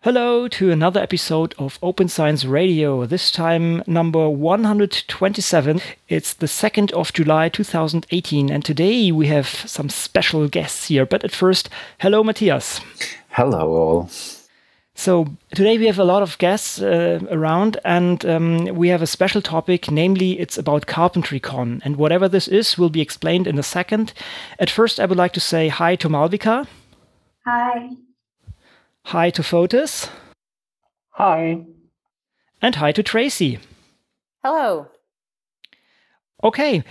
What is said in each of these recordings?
Hello to another episode of Open Science Radio, this time number 127. It's the 2nd of July 2018, and today we have some special guests here. But at first, hello Matthias. Hello all. So today we have a lot of guests around, and we have a special topic, namely it's about CarpentryCon. And whatever this is will be explained in a second. At first I would like to say hi to Malvika. Hi. Hi to Fotis. Hi. And hi to Tracy. Hello. Okay.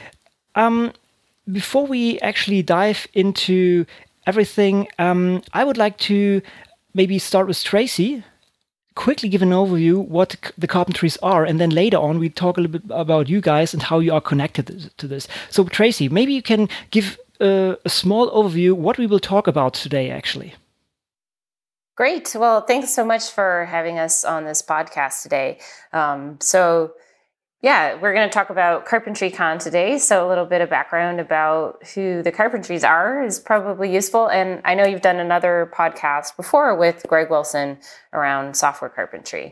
Before we actually dive into everything, I would like to maybe start with Tracy. Quickly give an overview what the carpentries are, and then later on we talk a little bit about you guys and how you are connected to this. So Tracy, maybe you can give a small overview what we will talk about today actually. Great. Well, thanks so much for having us on this podcast today. We're going to talk about CarpentryCon today. So a little bit of background about who the Carpentries are is probably useful. And I know you've done another podcast before with Greg Wilson around software carpentry.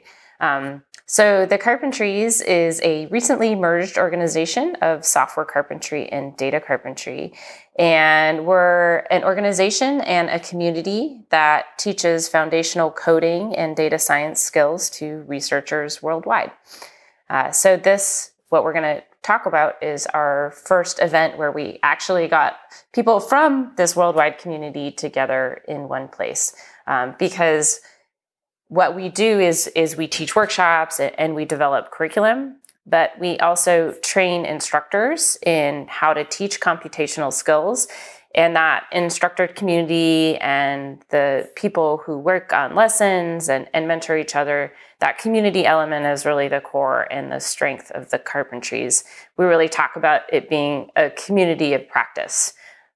So the Carpentries is a recently merged organization of software carpentry and data carpentry. And we're an organization and a community that teaches foundational coding and data science skills to researchers worldwide. What we're going to talk about is our first event where we actually got people from this worldwide community together in one place. Because what we do is we teach workshops and we develop curriculum, but we also train instructors in how to teach computational skills. And that instructor community and the people who work on lessons and mentor each other, that community element is really the core and the strength of the Carpentries. We really talk about it being a community of practice.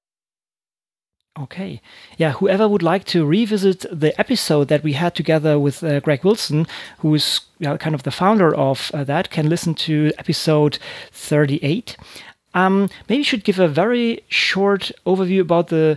Okay. Yeah, whoever would like to revisit the episode that we had together with Greg Wilson, who is kind of the founder of that, can listen to episode 38. Maybe you should give a very short overview about the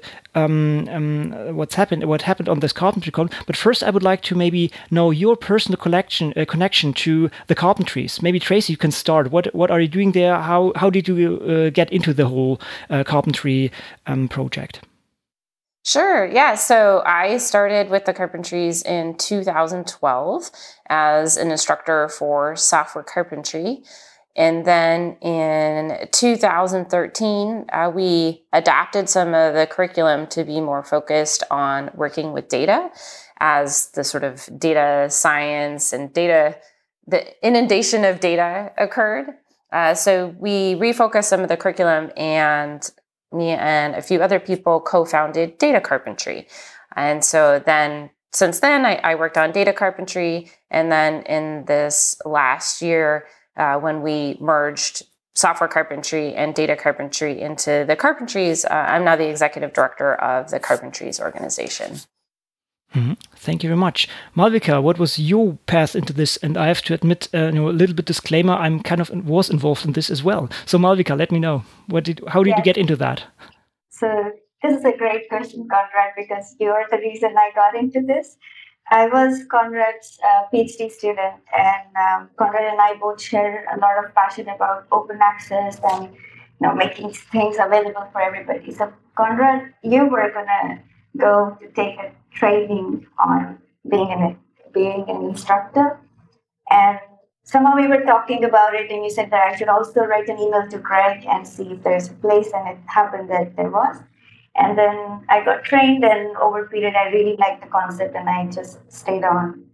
what happened on this CarpentryCon. But first, I would like to maybe know your personal connection to the Carpentries. Maybe Tracy, you can start. What are you doing there? How did you get into the whole carpentry project? Sure. Yeah. So I started with the Carpentries in 2012 as an instructor for software carpentry. And then in 2013, we adapted some of the curriculum to be more focused on working with data as the sort of data science and the inundation of data occurred. So we refocused some of the curriculum, and me and a few other people co-founded Data Carpentry. And so then, since then, I worked on Data Carpentry. And then in this last year, when we merged software carpentry and data carpentry into the Carpentries, I'm now the executive director of the Carpentries organization. Mm-hmm. Thank you very much. Malvika, what was your path into this? And I have to admit, a little bit disclaimer, I'm kind of was involved in this as well. So Malvika, let me know. How did you get into that? So this is a great question, Conrad, because you are the reason I got into this. I was Conrad's PhD student, and Conrad and I both share a lot of passion about open access and making things available for everybody. So Conrad, you were gonna go to take a training on being an instructor, and somehow we were talking about it, and you said that I should also write an email to Greg and see if there's a place, and it happened that there was. And then I got trained, and over a period, I really liked the concept, and I just stayed on.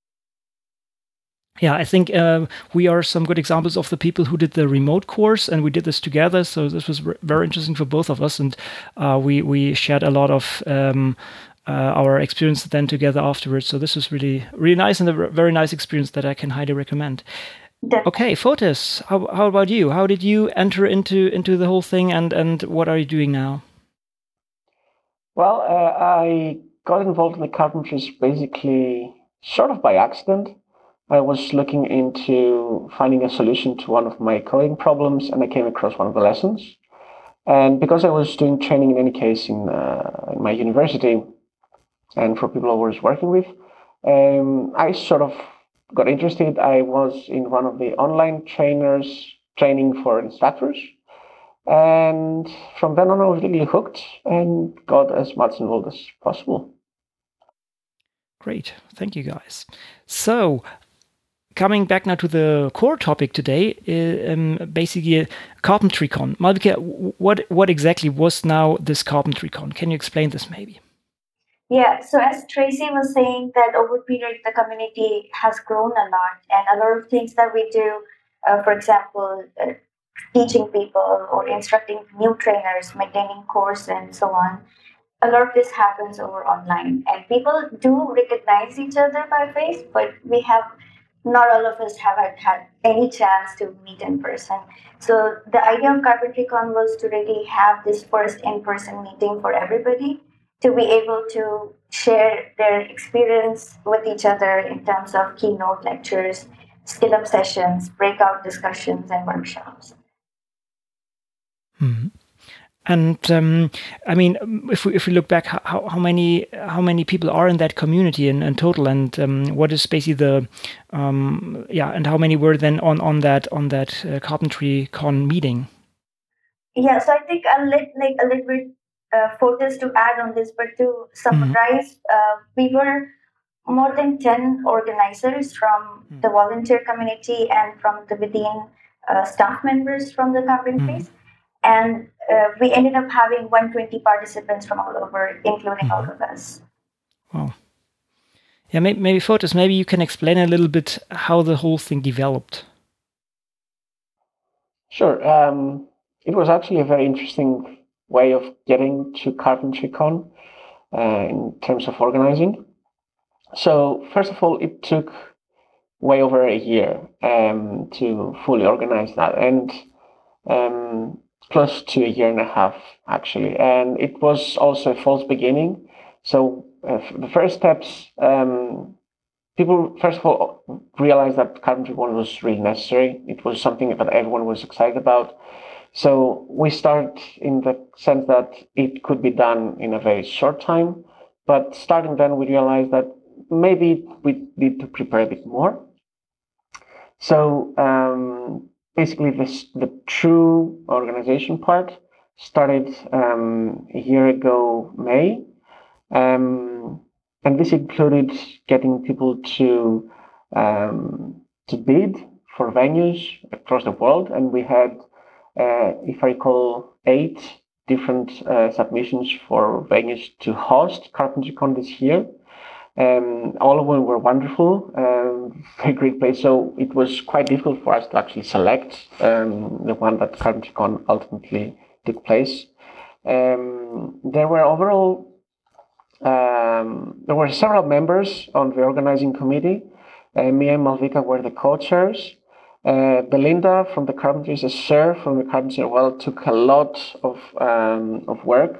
Yeah, I think we are some good examples of the people who did the remote course, and we did this together. So this was very interesting for both of us, and we shared a lot of our experience then together afterwards. So this was really, really nice, and a very nice experience that I can highly recommend. Okay, Fotis, how about you? How did you enter into the whole thing, and what are you doing now? Well, I got involved in the Carpentries basically sort of by accident. I was looking into finding a solution to one of my coding problems, and I came across one of the lessons. And because I was doing training in any case in my university, and for people I was working with, I sort of got interested. I was in one of the online trainers training for instructors. And from then on, I was really hooked and got as much involved as possible. Great. Thank you, guys. So, coming back now to the core topic today, basically CarpentryCon. Malvika, what exactly was now this CarpentryCon? Can you explain this maybe? Yeah, so as Tracy was saying, that over period the community has grown a lot, and a lot of things that we do, for example, teaching people or instructing new trainers, maintaining course, and so on. A lot of this happens over online, and people do recognize each other by face, but we have not all of us have had any chance to meet in person. So the idea of CarpentryCon was to really have this first in-person meeting for everybody to be able to share their experience with each other in terms of keynote lectures, skill up sessions, breakout discussions, and workshops. Mm-hmm. And I mean, if we look back, how many people are in that community in total, and what is basically the and how many were then on that CarpentryCon meeting? Yeah, so I think I'll let like a little bit photos to add on this, but to summarize, we were more than 10 organizers from the volunteer community and from the within staff members from the carpentries. And we ended up having 120 participants from all over, including all of us. Wow. Yeah, maybe Fotis, maybe you can explain a little bit how the whole thing developed. Sure. It was actually a very interesting way of getting to CarpentryCon in terms of organizing. So first of all, it took way over a year to fully organize that, and close to a year and a half actually. And it was also a false beginning. So the first steps, people first of all realized that CarpentryCon was really necessary. It was something that everyone was excited about. So we started in the sense that it could be done in a very short time. But starting then, we realized that maybe we need to prepare a bit more. So basically, the true organization part started a year ago, May. And this included getting people to bid for venues across the world. And we had, if I recall, 8 different submissions for venues to host CarpentryCon this year. All of them were wonderful, very great place. So it was quite difficult for us to actually select the one that CarpentryCon ultimately took place. There were overall there were several members on the organizing committee. Me and Malvika were the co-chairs. Belinda from the Carpentries, Sir from the Carpentries, took a lot of work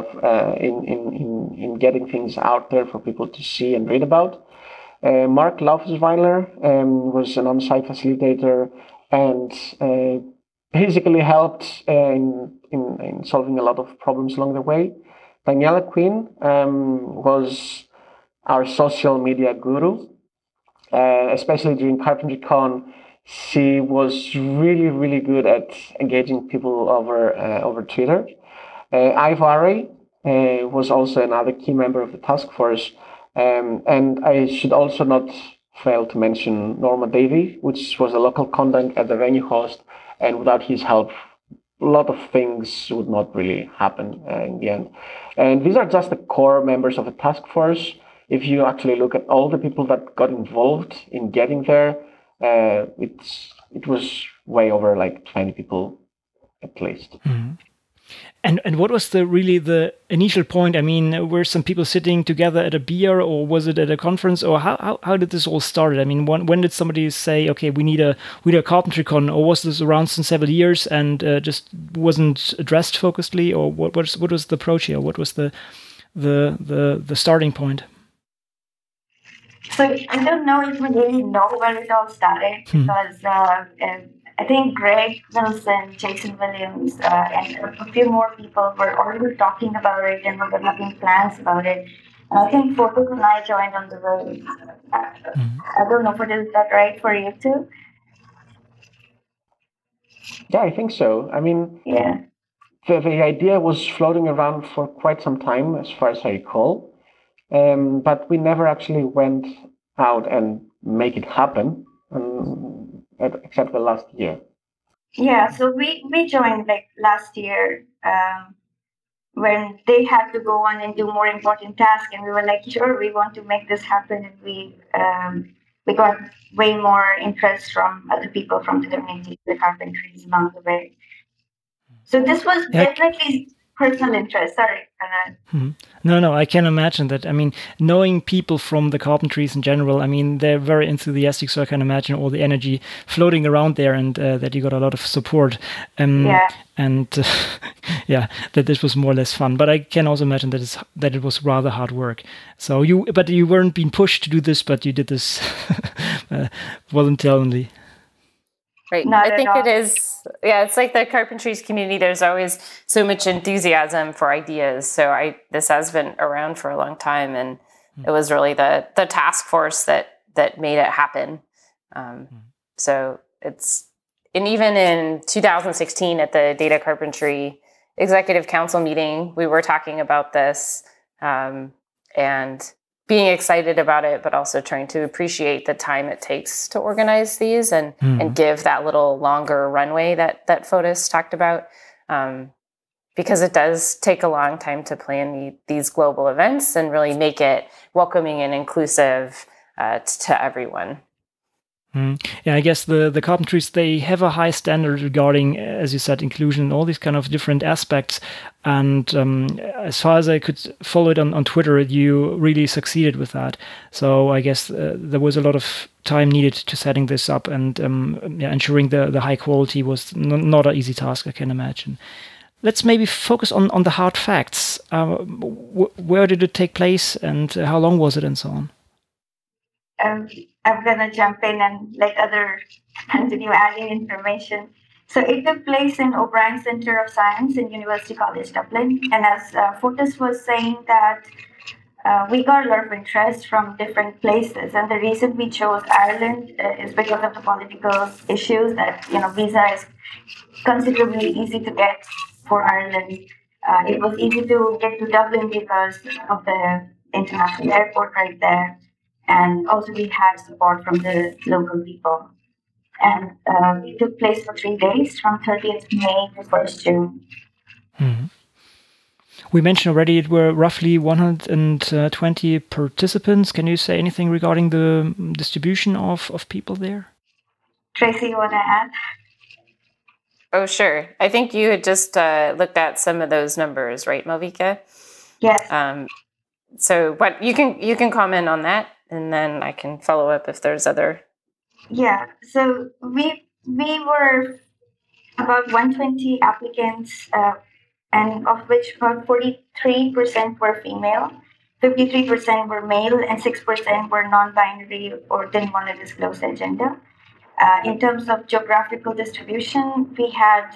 in getting things out there for people to see and read about. Mark Laufesweiler was an on-site facilitator and basically helped in solving a lot of problems along the way. Daniela Quinn was our social media guru, especially during CarpentryCon. She was really, really good at engaging people over Twitter. Ivari was also another key member of the task force. And I should also not fail to mention Norma Davey, which was a local contact at the venue host. And without his help, a lot of things would not really happen in the end. And these are just the core members of the task force. If you actually look at all the people that got involved in getting there, it was way over like 20 people at least. Mm-hmm. And what was the initial point? I mean, were some people sitting together at a beer, or was it at a conference, or how did this all start? I mean, when did somebody say, okay, we need a CarpentryCon, or was this around since several years and just wasn't addressed focusedly, or what was the approach here? What was the starting point? So I don't know if we really know where it all started because I think Greg Wilson, Jason Williams, and a few more people were already talking about it and were having plans about it. And I think Fortis and I joined on the very, I don't know if is that right for you too? Yeah, I think so. I mean, Yeah. the idea was floating around for quite some time, as far as I recall. But we never actually went out and make it happen, except the last year. Yeah, so we joined like last year when they had to go on and do more important tasks, and we were like, sure, we want to make this happen, and we got way more interest from other people from the community, the carpentries along the way. So this was definitely personal interest. Sorry, No, I can imagine that. I mean, knowing people from the carpentries in general, I mean, they're very enthusiastic, so I can imagine all the energy floating around there, and that you got a lot of support. Yeah. And yeah, that this was more or less fun. But I can also imagine that it was rather hard work. So you weren't being pushed to do this, but you did this voluntarily. Right. I think it is. Yeah, it's like the carpentries community. There's always so much enthusiasm for ideas. So this has been around for a long time, and it was really the task force that made it happen. So and even in 2016 at the Data Carpentry Executive Council meeting, we were talking about this and being excited about it, but also trying to appreciate the time it takes to organize these and give that little longer runway that Fotis talked about. Because it does take a long time to plan these global events and really make it welcoming and inclusive to everyone. Yeah, I guess the carpentries, they have a high standard regarding, as you said, inclusion and all these kind of different aspects. And as far as I could follow it on Twitter, you really succeeded with that. So I guess there was a lot of time needed to setting this up, and ensuring the high quality was not an easy task, I can imagine. Let's maybe focus on the hard facts. Where did it take place, and how long was it, and so on? I'm gonna jump in and let others continue adding information. So it took place in O'Brien Centre of Science in University College Dublin. And as Fotis was saying, that we got a lot of interest from different places. And the reason we chose Ireland is because of the political issues that, visa is considerably easy to get for Ireland. It was easy to get to Dublin because of the international airport right there. And also we had support from the local people. And it took place for 3 days, from 30th May to 1st June. Mm-hmm. We mentioned already it were roughly 120 participants. Can you say anything regarding the distribution of people there? Tracy, you want to add? Oh, sure. I think you had just looked at some of those numbers, right, Malvika? Yes. So, but you can comment on that, and then I can follow up if there's other. Yeah. So we were about 120 applicants, and of which about 43% were female, 53% were male, and 6% were non-binary or didn't want to disclose their gender. In terms of geographical distribution, we had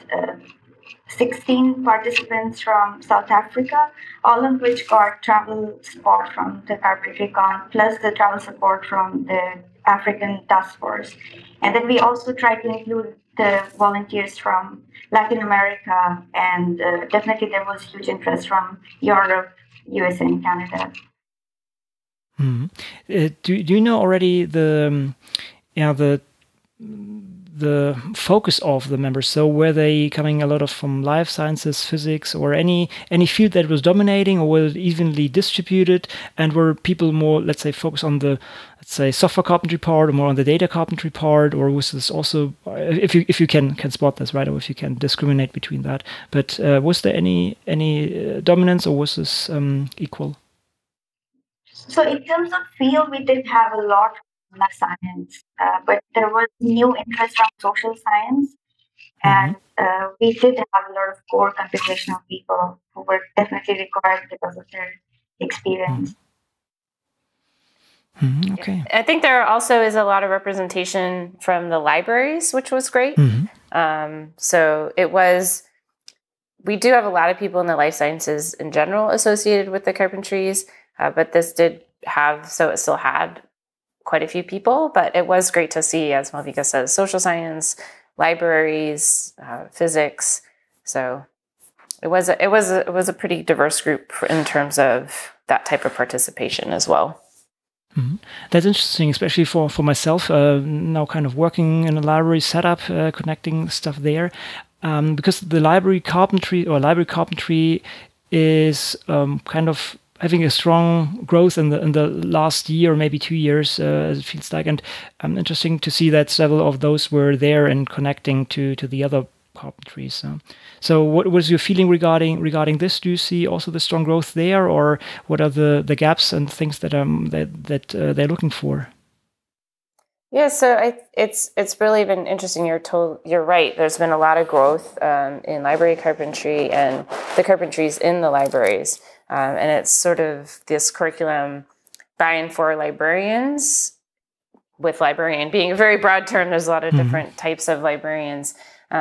16 participants from South Africa, all of which got travel support from the Carpentry Con, plus the travel support from the African Task Force. And then we also tried to include the volunteers from Latin America, and definitely there was huge interest from Europe, USA, and Canada. Mm-hmm. Do you know already the focus of the members? So were they coming a lot of from life sciences, physics, or any field that was dominating, or was it evenly distributed? And were people more, let's say, focused on the, let's say, software carpentry part, or more on the data carpentry part, or was this also, if you can spot this, right, or if you can discriminate between that? But was there any dominance, or was this equal? So in terms of field, we did have a lot of life science, but there was new interest from social science, and we did have a lot of core computational people who were definitely required because of their experience. Mm-hmm. Okay. I think there also is a lot of representation from the libraries, which was great. So we do have a lot of people in the life sciences in general associated with the Carpentries. But this did have, so it still had quite a few people, but it was great to see, as Malvika says, social science, libraries, physics. So it was a pretty diverse group in terms of that type of participation as well. Mm-hmm. That's interesting, especially for myself, now kind of working in a library setup, connecting stuff there, because the library carpentry is kind of having a strong growth in the last year, maybe 2 years, as it feels like, and interesting to see that several of those were there and connecting to the other carpentries. So what was your feeling regarding this? Do you see also the strong growth there, or what are the gaps and things that they're looking for? Yeah, so it's really been interesting. You're right. There's been a lot of growth in library carpentry and the carpentries in the libraries, and it's sort of this curriculum by and for librarians. With librarian being a very broad term, there's a lot of different types of librarians.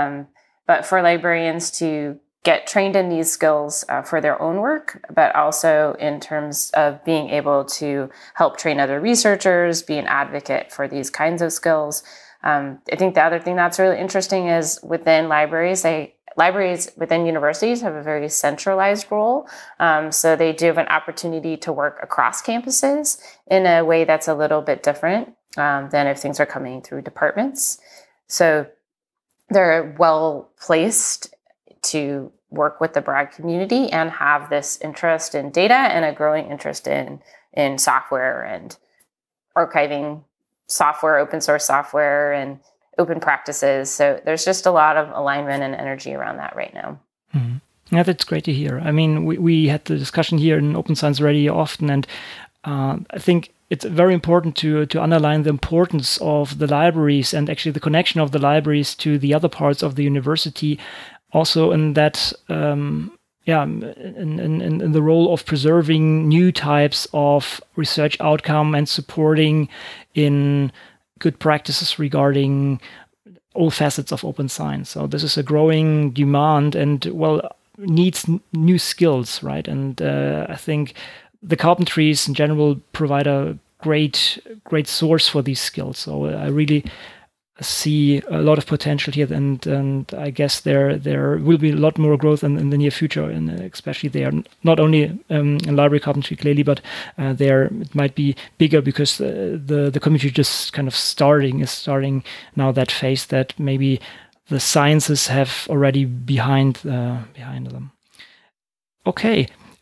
But for librarians to get trained in these skills for their own work, but also in terms of being able to help train other researchers, be an advocate for these kinds of skills. I think the other thing that's really interesting is within libraries, libraries within universities have a very centralized role. So they do have an opportunity to work across campuses in a way that's a little bit different than if things are coming through departments. So they're well placed to work with the broad community and have this interest in data and a growing interest in software and archiving software, open source software, and open practices. So there's just a lot of alignment and energy around that right now. Mm-hmm. Yeah, that's great to hear. I mean, we had the discussion here in Open Science Radio often, and I think it's very important to underline the importance of the libraries and actually the connection of the libraries to the other parts of the university. Also, in that, in the role of preserving new types of research outcome and supporting in good practices regarding all facets of open science. So this is a growing demand and, needs new skills, right? And I think the carpentries in general provide a great source for these skills. So I really see a lot of potential here, and I guess there will be a lot more growth in the near future, and especially they are not only in library carpentry clearly, but there it might be bigger because the community just kind of starting now that phase that maybe the sciences have already behind them. Okay.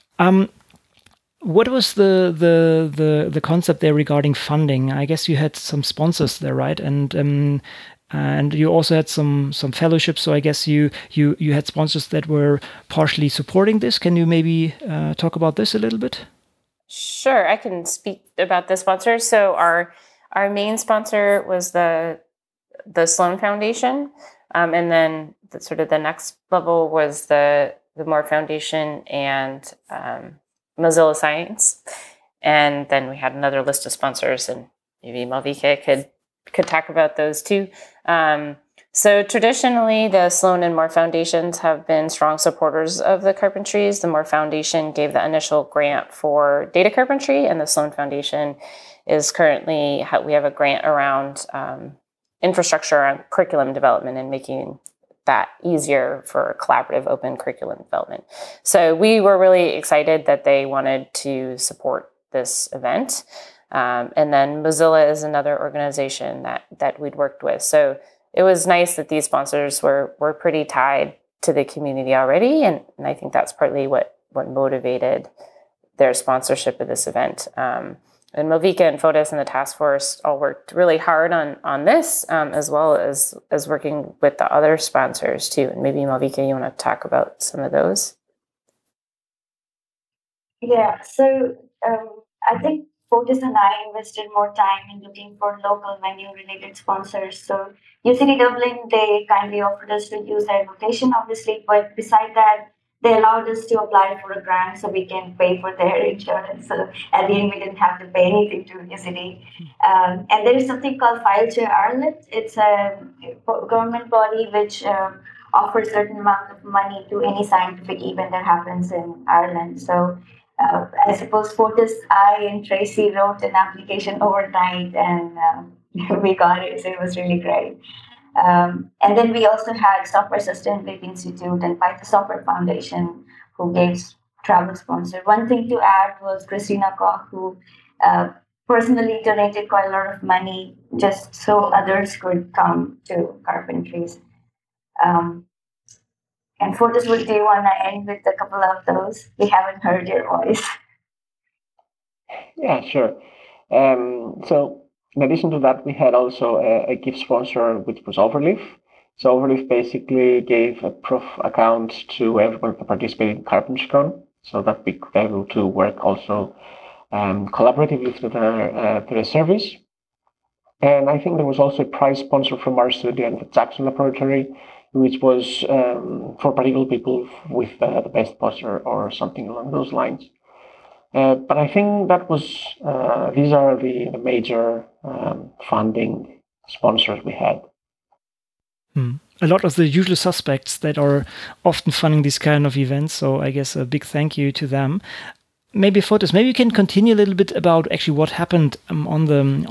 What was the concept there regarding funding? I guess you had some sponsors there, right? And you also had some fellowships. So I guess you had sponsors that were partially supporting this. Can you maybe talk about this a little bit? Sure, I can speak about the sponsors. So our main sponsor was the Sloan Foundation, and then the next level was the Moore Foundation and Mozilla Science, and then we had another list of sponsors, and maybe Malvika could talk about those too. So traditionally, the Sloan and Moore Foundations have been strong supporters of the carpentries. The Moore Foundation gave the initial grant for data carpentry, and the Sloan Foundation is currently, we have a grant around infrastructure and curriculum development and making that easier for collaborative open curriculum development. So we were really excited that they wanted to support this event. And then Mozilla is another organization that we'd worked with. So it was nice that these sponsors were pretty tied to the community already. And I think that's partly what motivated their sponsorship of this event. And Malvika and Fotis and the task force all worked really hard on this, as well as working with the other sponsors too. And maybe Malvika, you want to talk about some of those? Yeah, so I think Fotis and I invested more time in looking for local venue-related sponsors. So UCD Dublin, they kindly offered us to use their location, obviously, but beside that, they allowed us to apply for a grant so we can pay for their insurance. So at the end, we didn't have to pay anything to UCD. And there is something called FileShare Ireland. It's a government body which offers a certain amount of money to any scientific event that happens in Ireland. So I suppose Fortis, I and Tracy wrote an application overnight, and we got it. So it was really great. And then we also had Software Sustainability Institute and Python Software Foundation, who gave travel sponsor. One thing to add was Christina Koch, who uh, personally donated quite a lot of money just so others could come to Carpentries. Um, and Fortis, do you want to end with a couple of those? We haven't heard your voice. Yeah, sure. So in addition to that, we had also a gift sponsor, which was Overleaf. So Overleaf basically gave a proof account to everyone who participated in CarpentryCon, so that we could be able to work also collaboratively through the service. And I think there was also a prize sponsor from our studio and the Jackson Laboratory, which was for particular people with the best poster or something along those lines. But I think that was these are the major funding sponsors we had. A lot of the usual suspects that are often funding these kind of events. So I guess a big thank you to them. Maybe Fortis, maybe you can continue a little bit about actually what happened on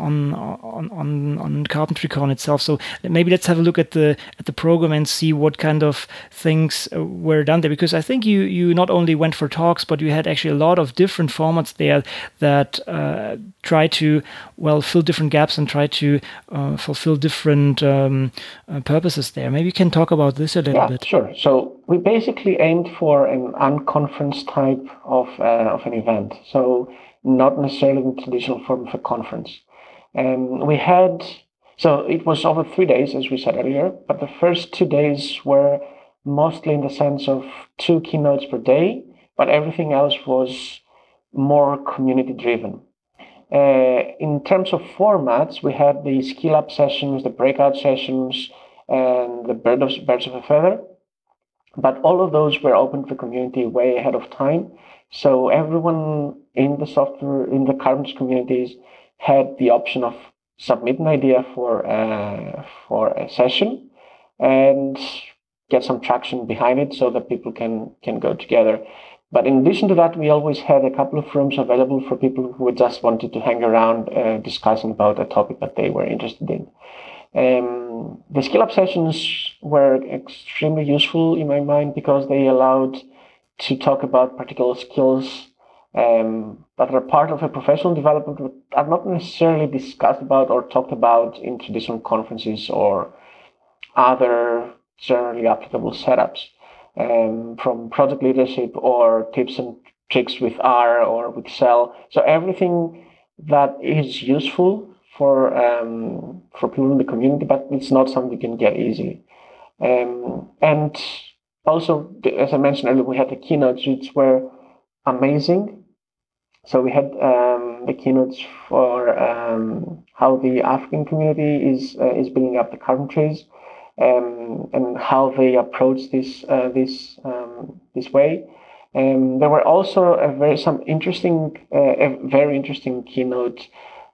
CarpentryCon itself. So maybe let's have a look at the program and see what kind of things were done there. Because I think you not only went for talks, but you had actually a lot of different formats there that try to fill different gaps and try to fulfill different purposes there. Maybe you can talk about this a little bit. Sure. So we basically aimed for an unconference type of an event, so not necessarily in the traditional form of a conference. We had, so it was over 3 days, as we said earlier, but the first 2 days were mostly in the sense of 2 keynotes per day, but everything else was more community driven. In terms of formats, we had the skill up sessions, the breakout sessions, and the birds of a feather. But all of those were open to the community way ahead of time. So everyone in the Carpentries communities had the option of submit an idea for a session and get some traction behind it so that people can go together. But in addition to that, we always had a couple of rooms available for people who just wanted to hang around discussing about a topic that they were interested in. The skill up sessions were extremely useful in my mind because they allowed to talk about particular skills that are part of a professional development but are not necessarily discussed about or talked about in traditional conferences or other generally applicable setups, from project leadership or tips and tricks with R or with Excel. So everything that is useful for people in the community, but it's not something you can get easily. And also, as I mentioned earlier, we had the keynotes, which were amazing. So we had the keynotes for how the African community is building up the Carpentries, and how they approach this way. There were also a very interesting keynote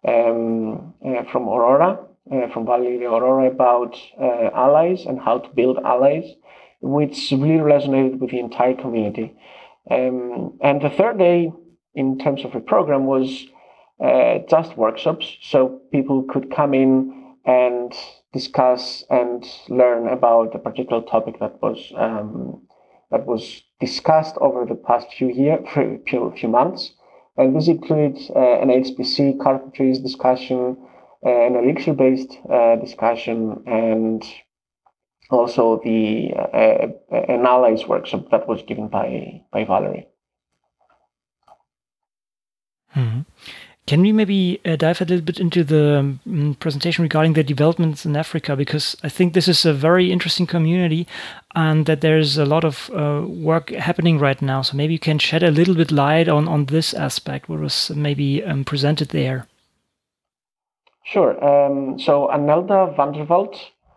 from Aurora, from Valeria Aurora, about allies and how to build allies, which really resonated with the entire community. And the third day, in terms of a program, was just workshops, so people could come in and discuss and learn about a particular topic that was discussed over the past few months. And this included an HPC Carpentries discussion, an Elixir-based discussion, and also an allies workshop that was given by Valerie. Mm-hmm. Can we maybe dive a little bit into the presentation regarding the developments in Africa? Because I think this is a very interesting community and that there's a lot of work happening right now. So maybe you can shed a little bit light on this aspect, what was maybe presented there. Sure. So Anelda Vanderveld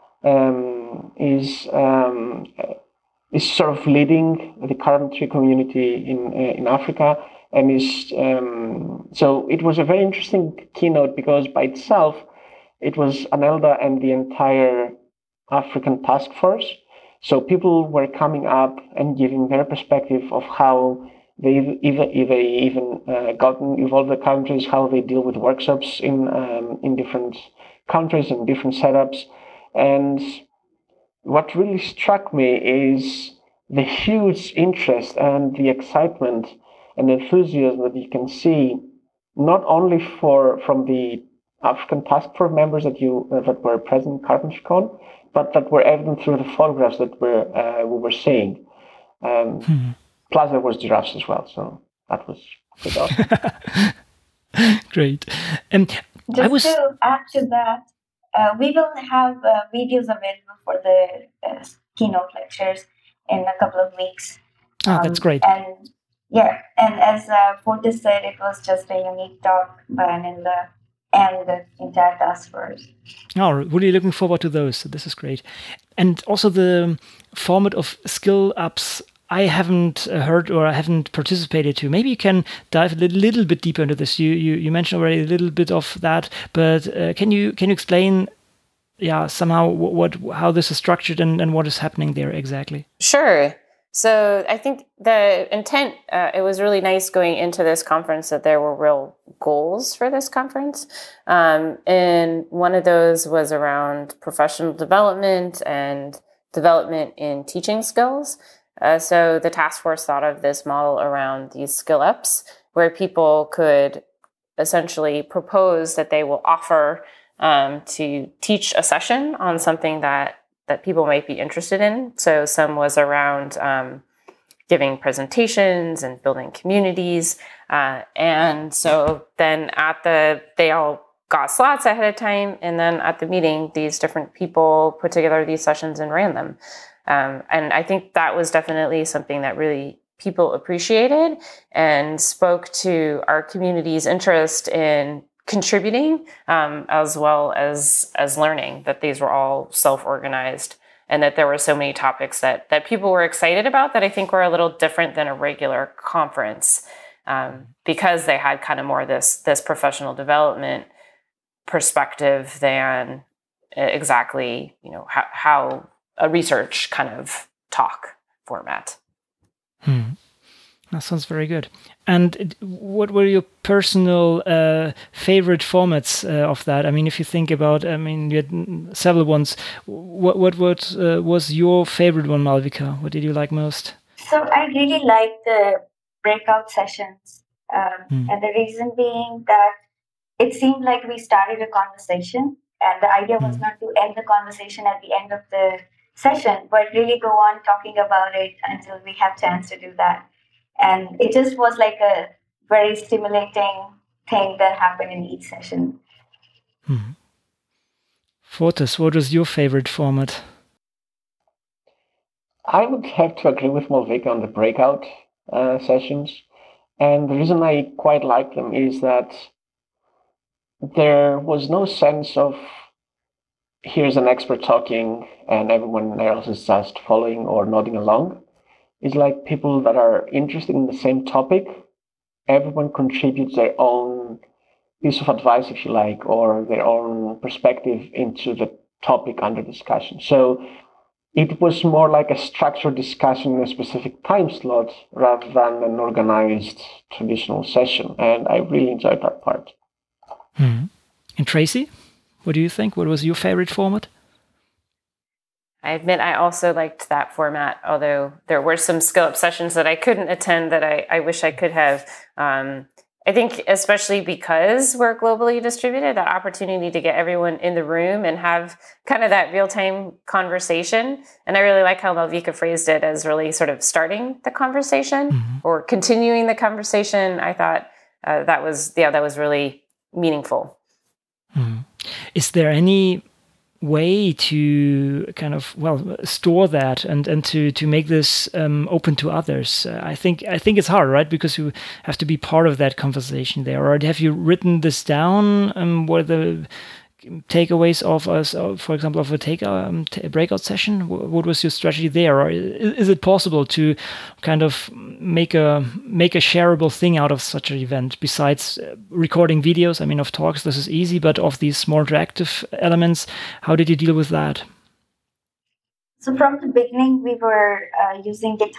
is sort of leading the Carpentry community in Africa. And so it was a very interesting keynote because by itself, it was Anelda and the entire African task force. So people were coming up and giving their perspective of how They even gotten involved with countries, how they deal with workshops in different countries and different setups. And what really struck me is the huge interest and the excitement and enthusiasm that you can see, not only from the African Task Force members that were present at CarpentryCon, but that were evident through the photographs that we were seeing. Plus, there was giraffes as well, so that was pretty awesome. Great. Just to add to that, we will have videos available for the keynote lectures in a couple of weeks. That's great. And as Fortis said, it was just a unique talk by Aninda and the entire task force. Oh, really looking forward to those. This is great. And also the format of skill ups, I haven't heard or I haven't participated to. Maybe you can dive a little bit deeper into this. You mentioned already a little bit of that, but can you explain, somehow how this is structured and what is happening there exactly? Sure. So I think the intent, it was really nice going into this conference that there were real goals for this conference. And one of those was around professional development and development in teaching skills. So the task force thought of this model around these skill ups where people could essentially propose that they will offer to teach a session on something that people might be interested in. So some was around giving presentations and building communities. And so then they all got slots ahead of time. And then at the meeting, these different people put together these sessions and ran them. And I think that was definitely something that really people appreciated and spoke to our community's interest in contributing, as well as learning, that these were all self-organized and that there were so many topics that people were excited about that I think were a little different than a regular conference, because they had kind of more this professional development perspective than exactly, how a research kind of talk format. That sounds very good. And what were your personal favorite formats of that? I mean, if you think about, you had several ones. What was your favorite one, Malvika? What did you like most? So I really liked the breakout sessions. And the reason being that it seemed like we started a conversation, and the idea was not to end the conversation at the end of the session, but really go on talking about it until we have chance to do that. And it just was like a very stimulating thing that happened in each session. Fortis, what was your favorite format? I would have to agree with Malvika on the breakout sessions. And the reason I quite like them is that there was no sense of here's an expert talking and everyone else is just following or nodding along. It's like people that are interested in the same topic, everyone contributes their own piece of advice, if you like, or their own perspective into the topic under discussion. So it was more like a structured discussion in a specific time slot rather than an organized traditional session. And I really enjoyed that part. And Tracy, what do you think? What was your favorite format? I admit I also liked that format, although there were some skill up sessions that I couldn't attend that I wish I could have. I think especially because we're globally distributed, that opportunity to get everyone in the room and have kind of that real-time conversation. And I really like how Malvika phrased it as really sort of starting the conversation or continuing the conversation. I thought that was really meaningful. Is there any way to kind of store that and to make this open to others? I think it's hard, right? Because you have to be part of that conversation there. Or have you written this down? What are the takeaways of us, for example, of a breakout session? What was your strategy there? Or is it possible to kind of make a shareable thing out of such an event besides recording videos? I mean, of talks, this is easy, but of these more interactive elements, how did you deal with that? So from the beginning, we were using GitHub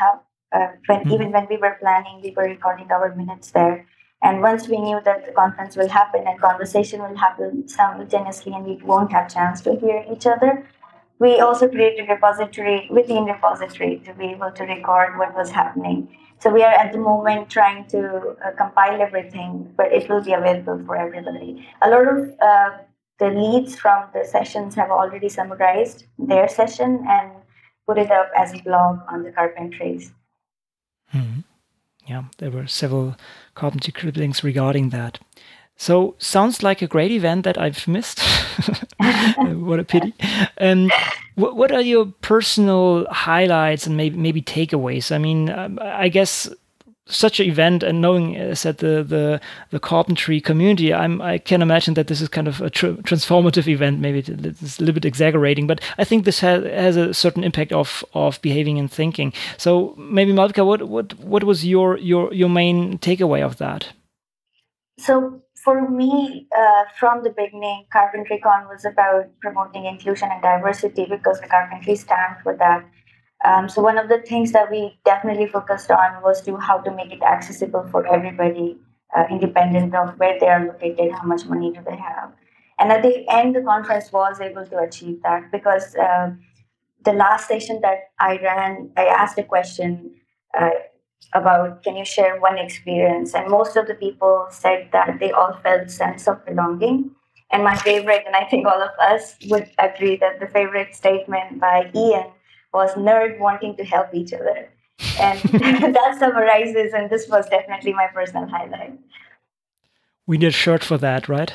Even when we were planning, we were recording our minutes there. And once we knew that the conference will happen and conversation will happen simultaneously and we won't have chance to hear each other, we also created a repository within repository to be able to record what was happening. So we are at the moment trying to compile everything, but it will be available for everybody. A lot of the leads from the sessions have already summarized their session and put it up as a blog on the Carpentries. Mm-hmm. Yeah, there were several carpentry clippings regarding that. So sounds like a great event that I've missed. What a pity. What are your personal highlights and maybe takeaways? I mean, I guess such an event and knowing that the carpentry community, I can imagine that this is kind of a transformative event. Maybe it's a little bit exaggerating, but I think this has a certain impact of behaving and thinking. So maybe Malvika, what was your main takeaway of that? So for me, from the beginning, CarpentryCon was about promoting inclusion and diversity because the carpentry stands for that. So one of the things that we definitely focused on was how to make it accessible for everybody, independent of where they are located, how much money do they have. And at the end, the conference was able to achieve that because the last session that I ran, I asked a question about, can you share one experience? And most of the people said that they all felt sense of belonging. And my favorite, and I think all of us would agree that the favorite statement by Ian was nerd wanting to help each other. And that summarizes, and this was definitely my personal highlight. We need a shirt for that, right?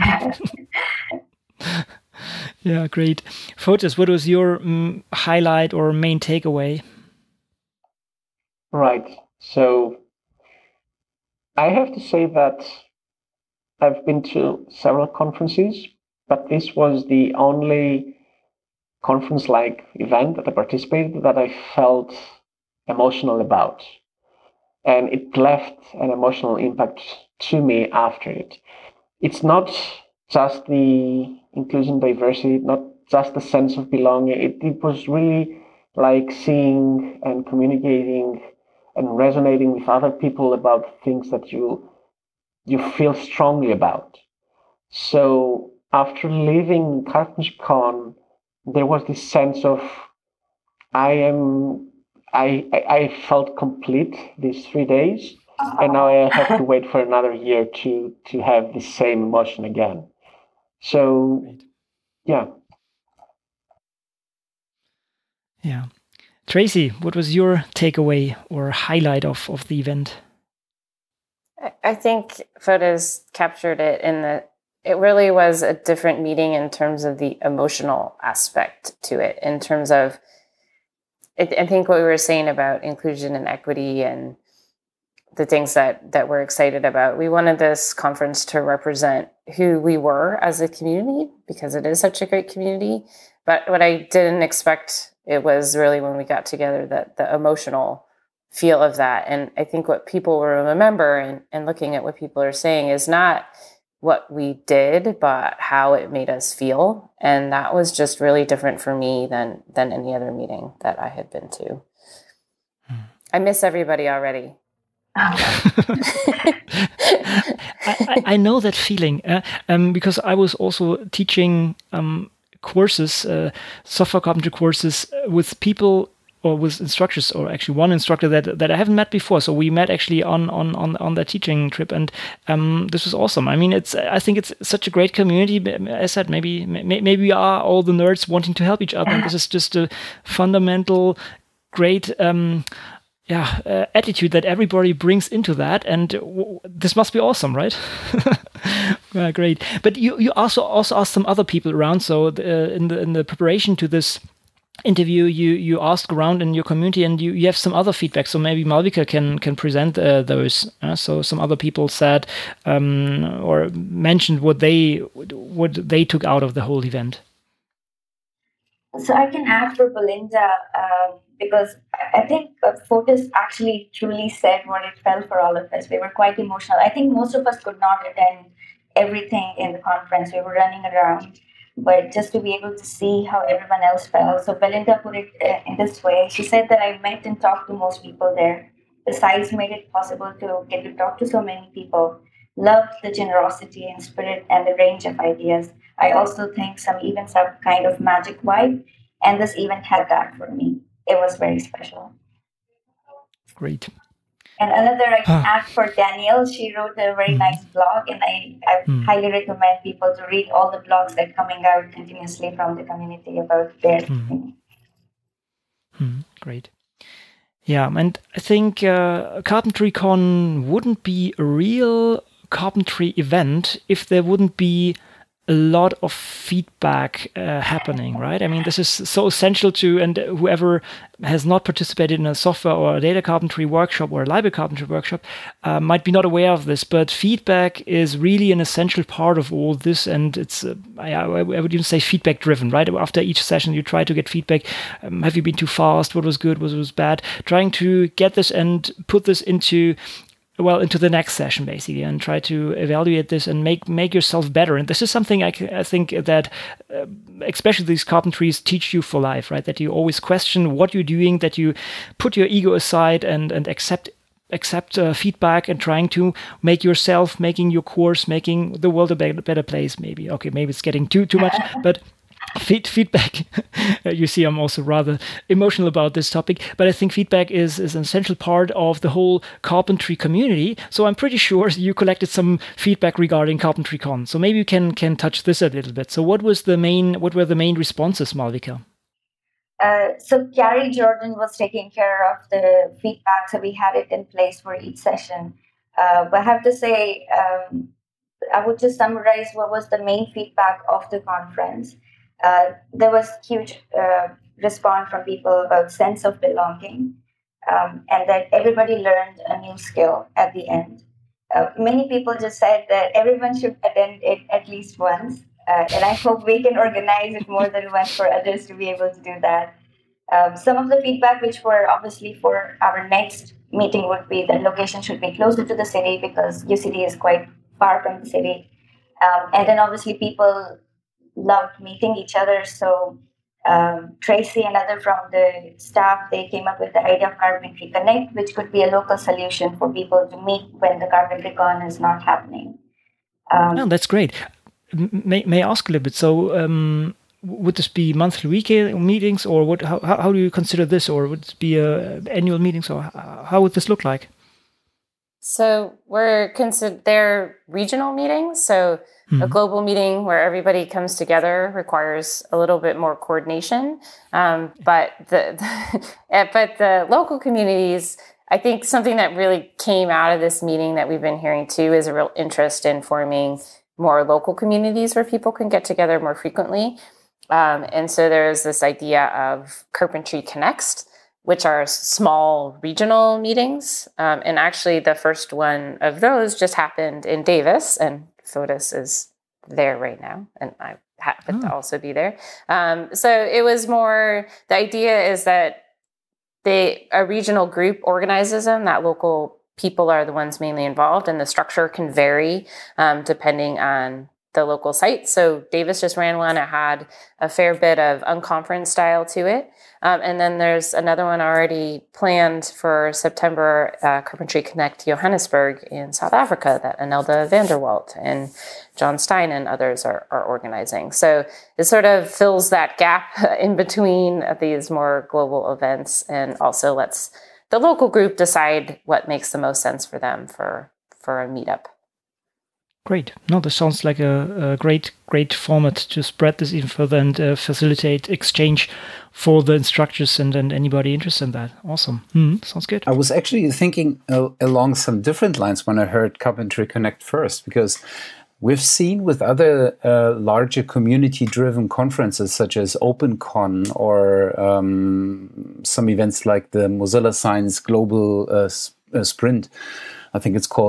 Yeah, great. Fotis, what was your highlight or main takeaway? Right. So I have to say that I've been to several conferences, but this was the only conference-like event that I participated that I felt emotional about. And it left an emotional impact to me after it. It's not just the inclusion, diversity, not just the sense of belonging. It was really like seeing and communicating and resonating with other people about things that you feel strongly about. So after leaving CarpentryCon, there was this sense of I felt complete these 3 days, and now I have to wait for another year to have the same emotion again. So, yeah. Yeah. Tracy, what was your takeaway or highlight of the event? I think Fotis captured it it really was a different meeting in terms of the emotional aspect to it, in terms of, I think what we were saying about inclusion and equity and the things that we're excited about. We wanted this conference to represent who we were as a community because it is such a great community. But what I didn't expect, it was really when we got together, that the emotional feel of that. And I think what people will remember and looking at what people are saying is not what we did, but how it made us feel. And that was just really different for me than any other meeting that I had been to. I miss everybody already. I know that feeling because I was also teaching courses, software carpentry courses with people or with instructors, or actually one instructor that I haven't met before. So we met actually on that teaching trip, and this was awesome. I mean, I think it's such a great community. As I said, maybe we are all the nerds wanting to help each other. And this is just a fundamental great attitude that everybody brings into that, and this must be awesome, right? Great. But you also asked some other people around. So in the preparation to this interview, you asked around in your community, and you have some other feedback. So maybe Malvika can present those. So some other people said or mentioned what they took out of the whole event. So I can add for Belinda because I think Fotis actually truly said what it felt for all of us. We were quite emotional. I think most of us could not attend everything in the conference. We were running around. but just to be able to see how everyone else felt. So Belinda put it in this way. She said that I met and talked to most people there. The size made it possible to get to talk to so many people. Loved the generosity and spirit and the range of ideas. I also think some events have kind of magic vibe, and this event had that for me. It was very special. Great. And another I can add for Danielle, she wrote a very nice blog, and I highly recommend people to read all the blogs that are coming out continuously from the community about their thing. Great. Yeah, and I think CarpentryCon wouldn't be a real carpentry event if there wouldn't be a lot of feedback happening, right? I mean, this is so essential to, and whoever has not participated in a software or a data carpentry workshop or a library carpentry workshop might be not aware of this, but feedback is really an essential part of all this, and it's, I would even say feedback driven, right? After each session, you try to get feedback. Have you been too fast? What was good? What was bad? Trying to get this and put this into the next session, basically, and try to evaluate this and make yourself better. And this is something I think that especially these carpentries teach you for life, right? That you always question what you're doing, that you put your ego aside and accept feedback, and trying to make yourself, making your course, making the world a better place, maybe. Okay, maybe it's getting too much, but feedback. You see, I'm also rather emotional about this topic, but I think feedback is an essential part of the whole carpentry community. So I'm pretty sure you collected some feedback regarding CarpentryCon. So maybe you can touch this a little bit. So what were the main responses, Malvika? So Gary Jordan was taking care of the feedback, so we had it in place for each session. But I have to say, I would just summarize what was the main feedback of the conference. There was huge response from people about sense of belonging, and that everybody learned a new skill at the end. Many people just said that everyone should attend it at least once, and I hope we can organize it more than once for others to be able to do that. Some of the feedback, which were obviously for our next meeting, would be that location should be closer to the city because UCD is quite far from the city. And then obviously people loved meeting each other. So Tracy and other from the staff, they came up with the idea of Carpentry Connect, which could be a local solution for people to meet when the CarpentryCon is not happening. That's great. May I ask a little bit? So would this be monthly, weekly meetings, or how do you consider this? Or would it be annual meetings, or how would this look like? So they're regional meetings. So a global meeting where everybody comes together requires a little bit more coordination. But the local communities, I think something that really came out of this meeting that we've been hearing too is a real interest in forming more local communities where people can get together more frequently. And so there's this idea of Carpentry Connects, which are small regional meetings. And actually the first one of those just happened in Davis, and Fotis is there right now, and I happen to also be there. So it was more, the idea is that a regional group organizes them, that local people are the ones mainly involved, and the structure can vary depending on the local site. So Davis just ran one. It had a fair bit of unconference style to it. And then there's another one already planned for September, Carpentry Connect Johannesburg in South Africa that Anelda Vanderwalt and John Stein and others are organizing. So it sort of fills that gap in between these more global events, and also lets the local group decide what makes the most sense for them for a meetup. Great. No, this sounds like a great format to spread this even further and facilitate exchange for the instructors and anybody interested in that. Awesome. Sounds good. I was actually thinking along some different lines when I heard Carpentry Connect first, because we've seen with other larger community-driven conferences such as OpenCon or some events like the Mozilla Science Global Sprint, I think it's called,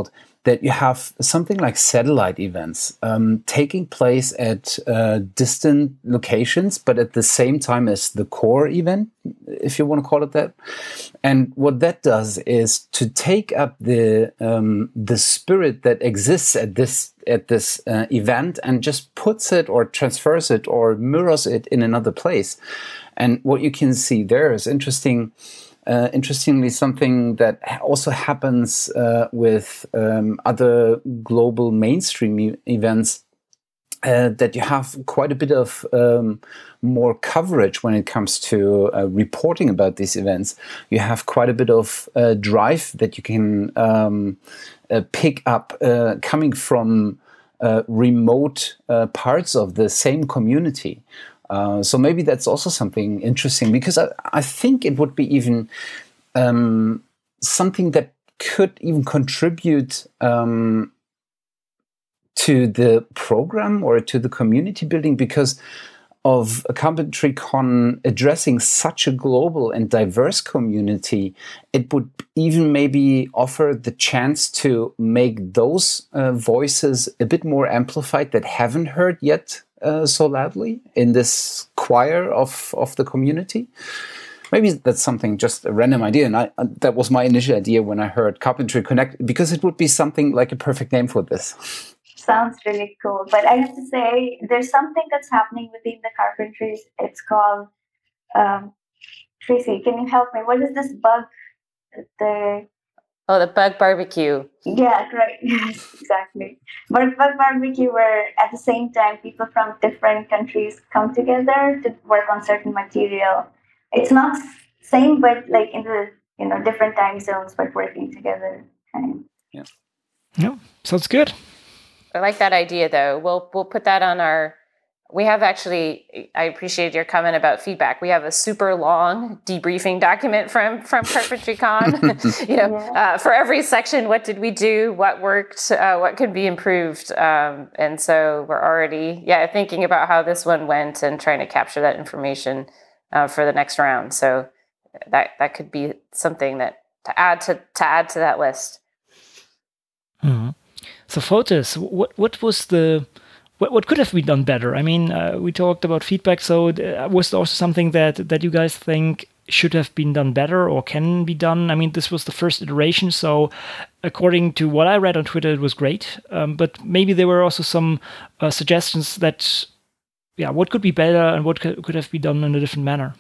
that you have something like satellite events taking place at distant locations, but at the same time as the core event, if you want to call it that. And what that does is to take up the spirit that exists at this event and just puts it or transfers it or mirrors it in another place. And what you can see there is interestingly, something that also happens with other global mainstream events, that you have quite a bit of more coverage when it comes to reporting about these events. You have quite a bit of drive that you can pick up coming from remote parts of the same community. So maybe that's also something interesting, because I think it would be even something that could even contribute to the program or to the community building, because of CarpentryCon addressing such a global and diverse community. It would even maybe offer the chance to make those voices a bit more amplified that haven't heard yet so loudly in this choir of the community. Maybe that's something, just a random idea. And that was my initial idea when I heard Carpentry Connect, because it would be something like a perfect name for this. Sounds really cool. But I have to say, there's something that's happening within the carpentries. It's called, Tracy, can you help me? What is this bug? The bug barbecue. Yeah, right. Yes, exactly. But bug barbecue, where at the same time people from different countries come together to work on certain material. It's not same, but like in the different time zones, but working together. Yeah, sounds good. I like that idea, though. We'll put that on our. We have actually. I appreciate your comment about feedback. We have a super long debriefing document from CarpentryCon. For every section, what did we do? What worked? What could be improved? And so we're already thinking about how this one went and trying to capture that information for the next round. So that could be something that to add to that list. Mm-hmm. So Fotis, what was what could have been done better? I mean, we talked about feedback. So was there also something that you guys think should have been done better or can be done? I mean, this was the first iteration. So according to what I read on Twitter, it was great. But maybe there were also some suggestions that, what could be better and what could have been done in a different manner.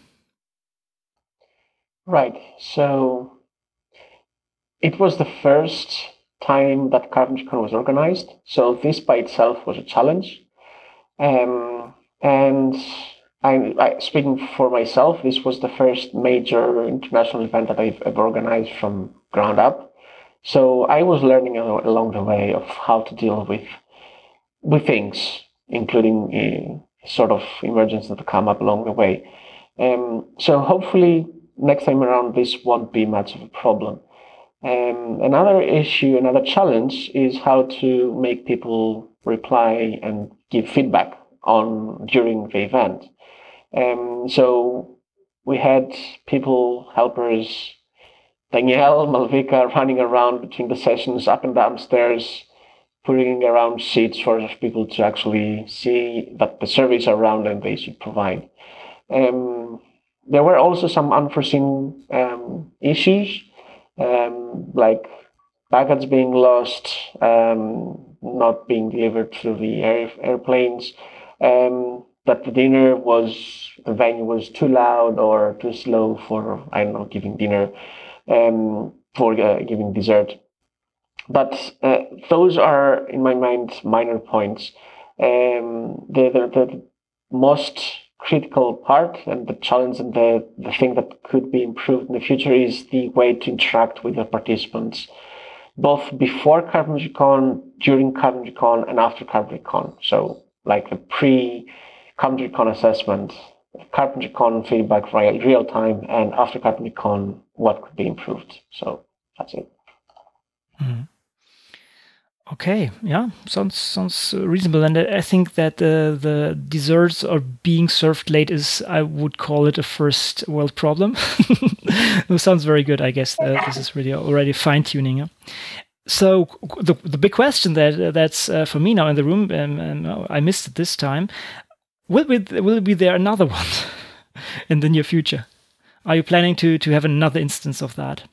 Right. So it was the first time that CarpentryCon was organized, so this by itself was a challenge. And I speaking for myself, this was the first major international event that I've ever organized from ground up. So I was learning along the way of how to deal with things, including sort of emergencies that come up along the way. So hopefully next time around this won't be much of a problem. Another challenge is how to make people reply and give feedback during the event. So we had helpers, Danielle, Malvika, running around between the sessions, up and down stairs, putting around sheets for people to actually see that the surveys are around and they should provide. There were also some unforeseen issues, like baggage being lost, not being delivered through the airplanes, that the venue was too loud or too slow for, giving dinner, for giving dessert. But those are, in my mind, minor points. The most critical part and the challenge and the thing that could be improved in the future is the way to interact with the participants, both before CarpentryCon, during CarpentryCon, and after CarpentryCon. So like the pre-CarpentryCon assessment, CarpentryCon feedback real time, and after CarpentryCon, what could be improved. So that's it. Mm-hmm. Okay, yeah, sounds reasonable, and I think that the desserts are being served late is, I would call it, a first world problem. It sounds very good. I guess this is really already fine tuning. Yeah? So the big question that's for me now in the room, and I missed it this time, will be there another one in the near future? Are you planning to have another instance of that?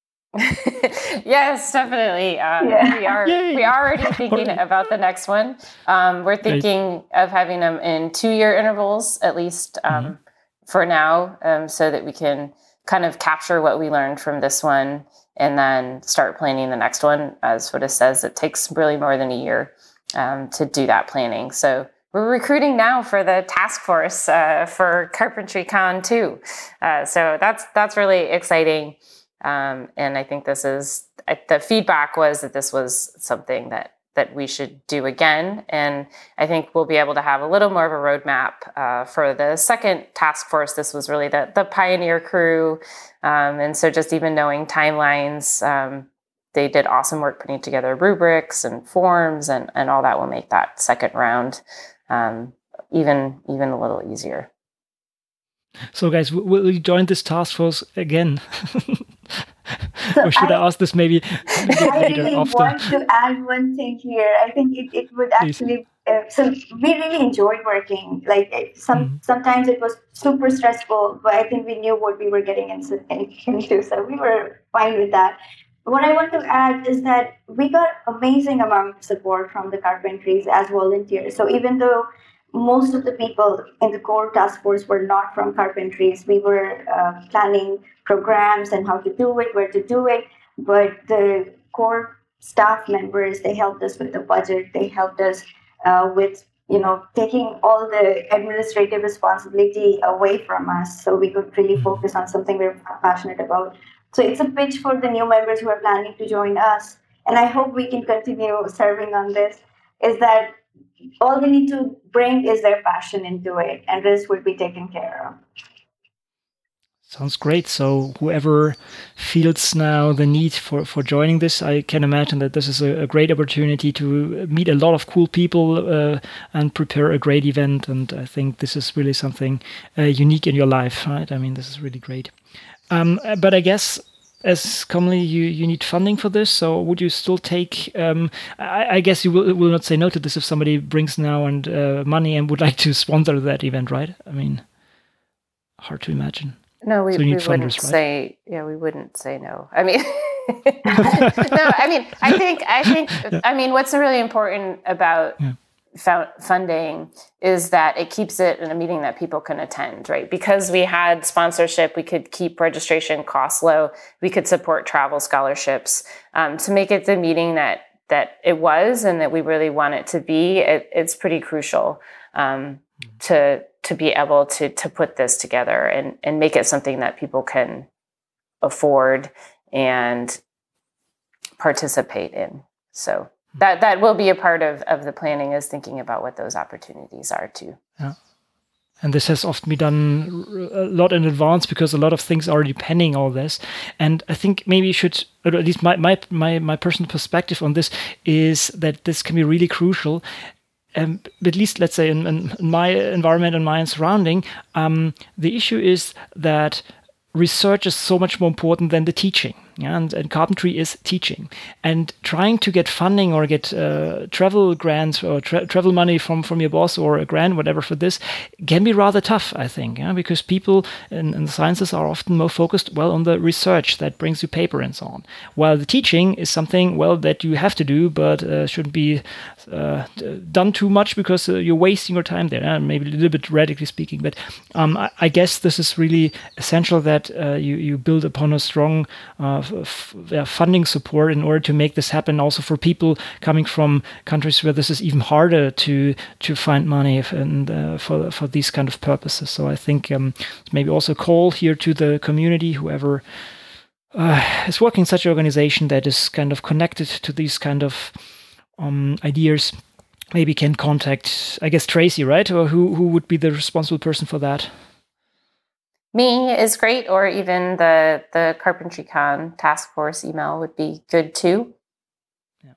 Yes, definitely. We are already thinking about the next one. We're thinking of having them in 2-year intervals, at least for now, so that we can kind of capture what we learned from this one and then start planning the next one. As Fotis says, it takes really more than a year to do that planning. So we're recruiting now for the task force for CarpentryCon too. So that's really exciting. And I think the feedback was that this was something that we should do again. And I think we'll be able to have a little more of a roadmap for the second task force. This was really the pioneer crew. And so just even knowing timelines, they did awesome work putting together rubrics and forms and all that will make that second round even a little easier. So guys, will you join this task force again? Or should I ask this maybe later? I really want to add one thing here. I think it would actually. So we really enjoyed working. Like sometimes it was super stressful, but I think we knew what we were getting into, so we were fine with that. What I want to add is that we got amazing amount of support from the carpentries as volunteers. So even though most of the people in the core task force were not from carpentries, we were planning programs and how to do it, where to do it. But the core staff members, they helped us with the budget. They helped us with, taking all the administrative responsibility away from us so we could really focus on something we're passionate about. So it's a pitch for the new members who are planning to join us. And I hope we can continue serving on this, is that all they need to bring is their passion into it, and this will be taken care of. Sounds great. So whoever feels now the need for joining this, I can imagine that this is a great opportunity to meet a lot of cool people and prepare a great event. And I think this is really something unique in your life, right? I mean, this is really great. But I guess as commonly you need funding for this, so would you still take I guess you will not say no to this if somebody brings now and money and would like to sponsor that event, right? I mean, hard to imagine. No, we wouldn't funders, say right? We wouldn't say no. I mean no, I mean what's really important about funding is that it keeps it in a meeting that people can attend, right? Because we had sponsorship, we could keep registration costs low, we could support travel scholarships to make it the meeting that it was and that we really want it to be. It's pretty crucial to be able to put this together and make it something that people can afford and participate in. So that will be a part of the planning, is thinking about what those opportunities are too. Yeah. And this has often been done a lot in advance because a lot of things are depending on this. And I think maybe you should, or at least my personal perspective on this is that this can be really crucial. At least, let's say, in my environment and my surrounding, the issue is that research is so much more important than the teaching. Yeah, and carpentry is teaching. And trying to get funding or get travel grants or travel money from your boss or a grant, whatever, for this can be rather tough, I think, because people in the sciences are often more focused, on the research that brings you paper and so on. While the teaching is something, that you have to do, but shouldn't be done too much because you're wasting your time there, maybe a little bit radically speaking. But I guess this is really essential that you build upon a strong funding support in order to make this happen, also for people coming from countries where this is even harder to find money and for these kind of purposes. So I think maybe also call here to the community, whoever is working in such an organization that is kind of connected to these kind of ideas, maybe can contact, I guess, Tracy, right? Or who would be the responsible person for that? Me is great, or even the CarpentryCon task force email would be good too. Yeah.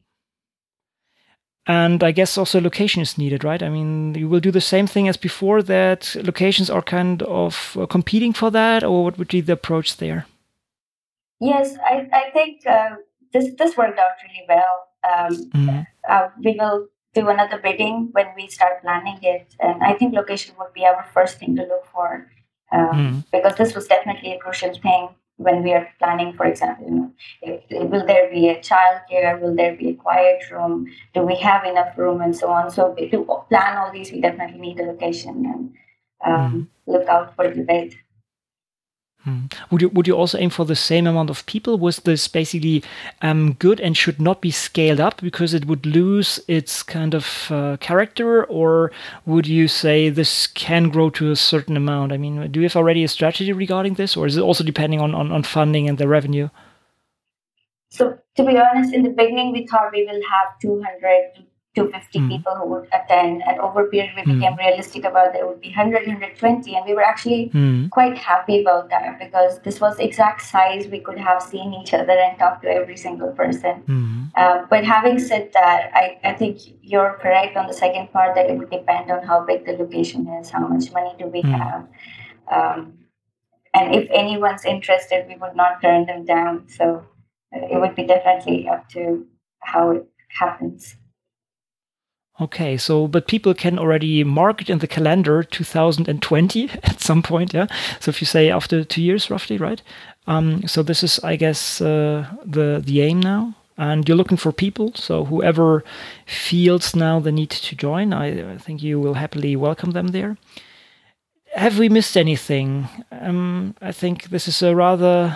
And I guess also location is needed, right? I mean, you will do the same thing as before, that locations are kind of competing for that, or what would be the approach there? Yes, I think this worked out really well. We will do another bidding when we start planning it, and I think location would be our first thing to look for, because this was definitely a crucial thing when we are planning. For example, will there be a childcare? Will there be a quiet room? Do we have enough room, and so on? So to plan all these, we definitely need a location and look out for the bid. Would you also aim for the same amount of people? Was this basically good and should not be scaled up because it would lose its kind of character, or would you say this can grow to a certain amount? I mean, do you have already a strategy regarding this, or is it also depending on funding and the revenue? So to be honest, in the beginning, we thought we will have 200 to 250 people who would attend, and over a period we became realistic about there would be 100, 120, and we were actually quite happy about that because this was the exact size we could have seen each other and talk to every single person. But having said that, I think you're correct on the second part that it would depend on how big the location is, how much money do we have, and if anyone's interested, we would not turn them down. So it would be definitely up to how it happens. Okay, so but people can already mark it in the calendar 2020 at some point, yeah? So if you say after 2 years roughly, right? So this is, I guess, the aim now. And you're looking for people, so whoever feels now the need to join, I think you will happily welcome them there. Have we missed anything? I think this is a rather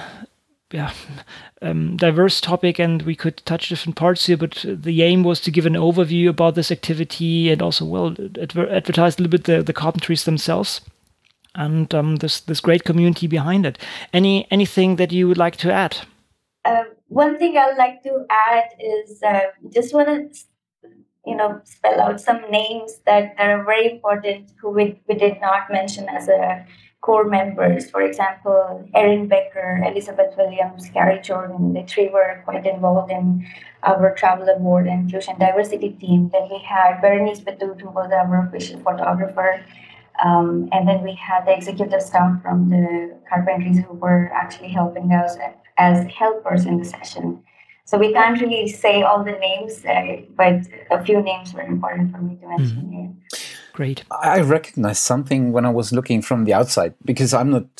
diverse topic, and we could touch different parts here, but the aim was to give an overview about this activity and also, advertise a little bit the carpentries themselves and this great community behind it. Anything that you would like to add? One thing I'd like to add is just want to spell out some names that are very important who we did not mention as a core members. For example, Erin Becker, Elizabeth Williams, Gary Jordan, the three were quite involved in our travel award and inclusion diversity team. Then we had Berenice Batut, who was our official photographer. And then we had the executive staff from the carpentries who were actually helping us as helpers in the session. So we can't really say all the names, but a few names were important for me to mention here. Great. I recognized something when I was looking from the outside, because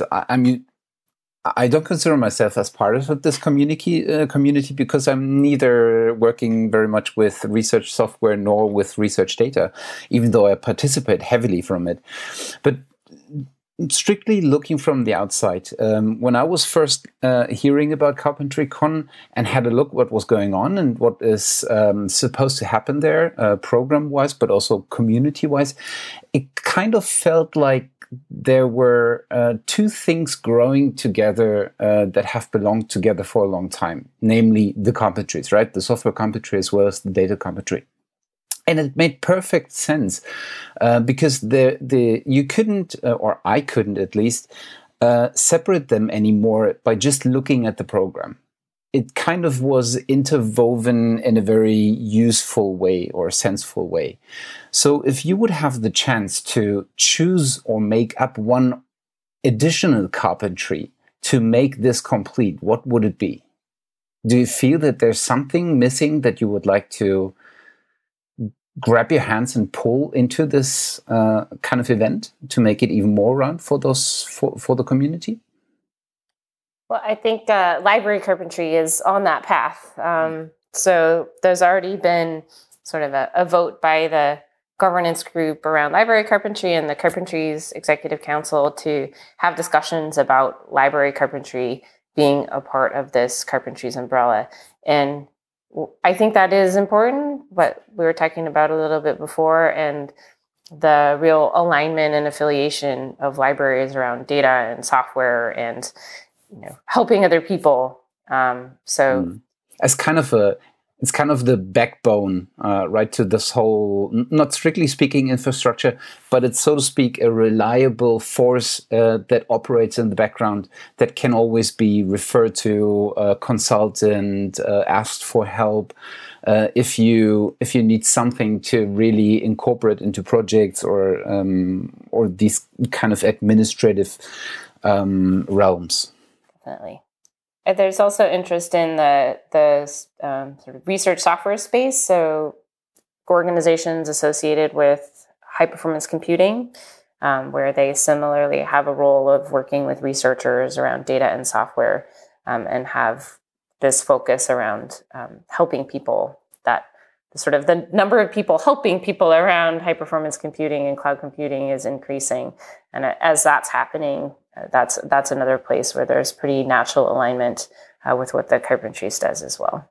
I don't consider myself as part of this community because I'm neither working very much with research software nor with research data, even though I participate heavily from it. But strictly looking from the outside, when I was first hearing about CarpentryCon and had a look what was going on and what is supposed to happen there, program-wise, but also community-wise, it kind of felt like there were two things growing together that have belonged together for a long time, namely the carpentries, right? The software carpentry as well as the data carpentry. And it made perfect sense because you couldn't, or I couldn't at least, separate them anymore by just looking at the program. It kind of was interwoven in a very useful way or senseful way. So if you would have the chance to choose or make up one additional carpentry to make this complete, what would it be? Do you feel that there's something missing that you would like to grab your hands and pull into this kind of event to make it even more round for the community? Well, I think library carpentry is on that path. So there's already been sort of a vote by the governance group around library carpentry and the Carpentries Executive Council to have discussions about library carpentry being a part of this Carpentries umbrella. And I think that is important, what we were talking about a little bit before, and the real alignment and affiliation of libraries around data and software and helping other people. It's kind of the backbone, right, to this whole, not strictly speaking infrastructure, but it's, so to speak, a reliable force that operates in the background that can always be referred to, consultant, asked for help. If you need something to really incorporate into projects or these kind of administrative realms. Definitely. There's also interest in the sort of research software space. So organizations associated with high performance computing, where they similarly have a role of working with researchers around data and software, and have this focus around helping people. That sort of the number of people helping people around high performance computing and cloud computing is increasing, and as that's happening, that's another place where there's pretty natural alignment with what the Carpentries does as well.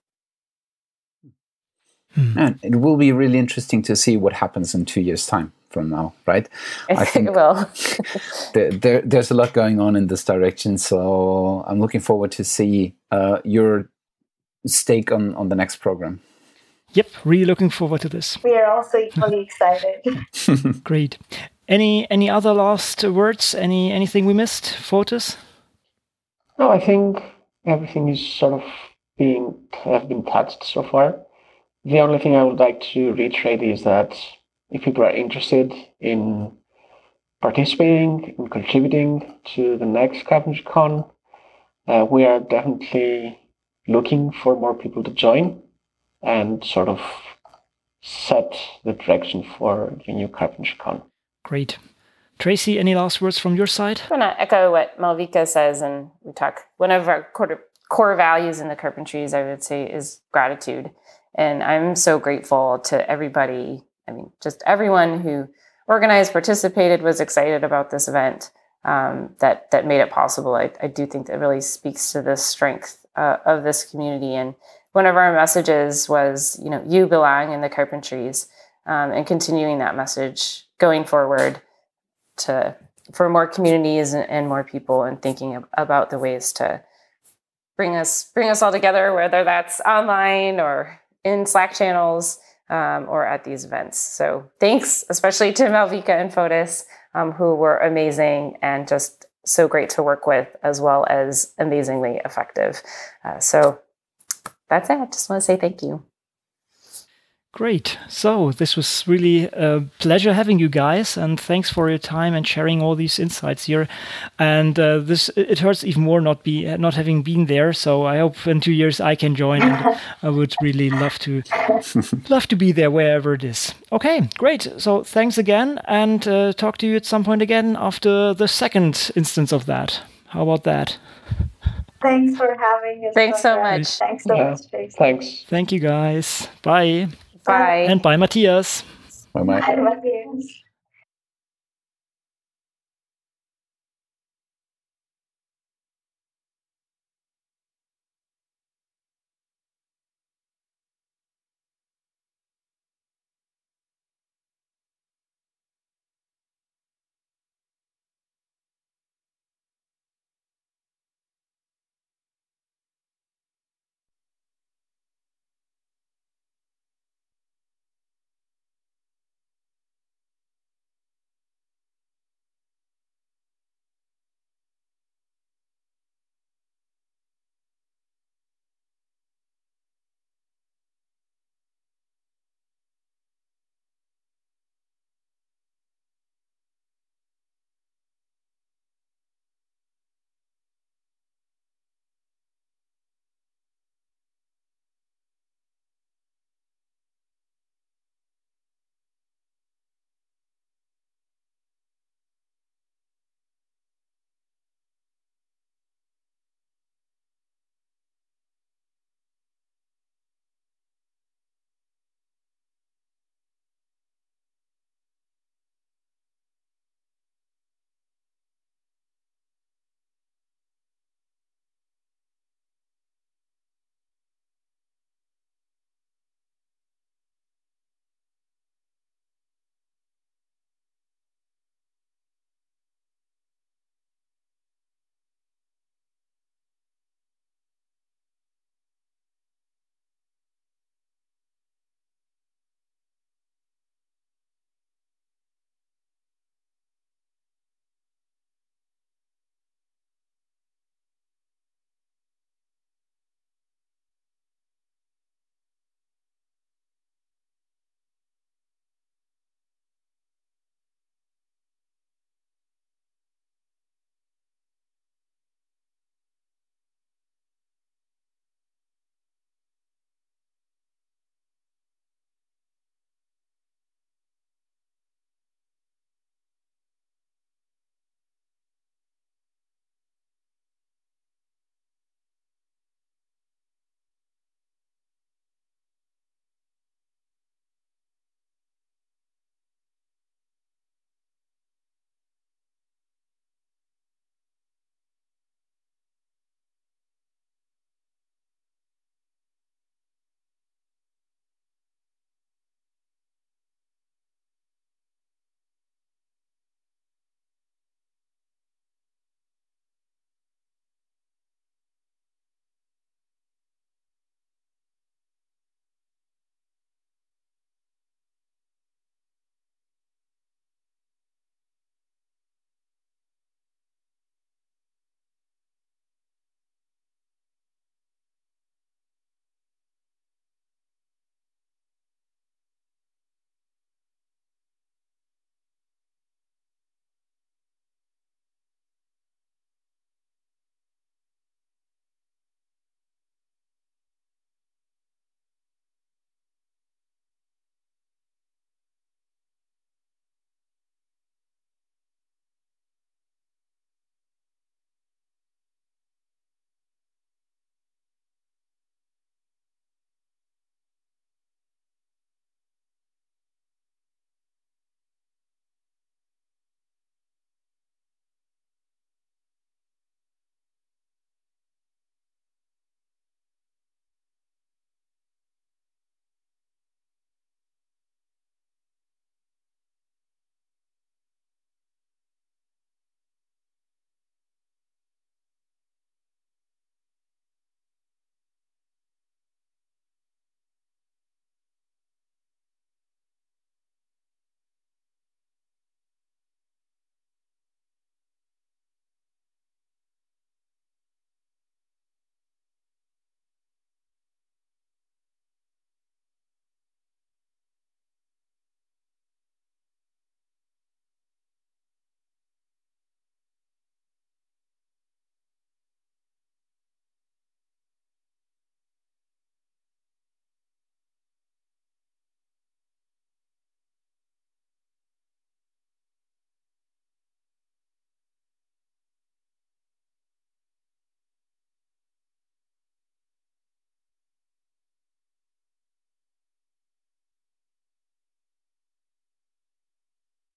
And it will be really interesting to see what happens in 2 years' time from now, right? I think it will. There's a lot going on in this direction, so I'm looking forward to see your stake on the next program. Yep, really looking forward to this. We are also equally excited. Great. Any other last words? Anything we missed, Fotis? No, I think everything is sort of have been touched so far. The only thing I would like to reiterate is that if people are interested in participating, in contributing to the next CarpentryCon, we are definitely looking for more people to join and sort of set the direction for the new CarpentryCon. Great. Tracy, any last words from your side? I'm going to echo what Malvika says, and we talk. One of our core values in the Carpentries, I would say, is gratitude. And I'm so grateful to everybody. I mean, just everyone who organized, participated, was excited about this event, that made it possible. I do think that really speaks to the strength of this community. And one of our messages was, you belong in the Carpentries, and continuing that message going forward for more communities and more people, and thinking about the ways to bring us all together, whether that's online or in Slack channels, or at these events. So thanks, especially to Malvika and Fotis, who were amazing and just so great to work with, as well as amazingly effective. So that's it. I just want to say thank you. Great. So this was really a pleasure having you guys, and thanks for your time and sharing all these insights here. And it hurts even more not having been there. So I hope in 2 years I can join, and I would really love to be there wherever it is. Okay, great. So thanks again, and talk to you at some point again after the second instance of that. How about that? Thanks for having us. Thanks so much. Thanks so much, Tracy. Thanks. Thank you, guys. Bye. Bye. And bye, Matthias. Bye-bye. Bye, Matthias.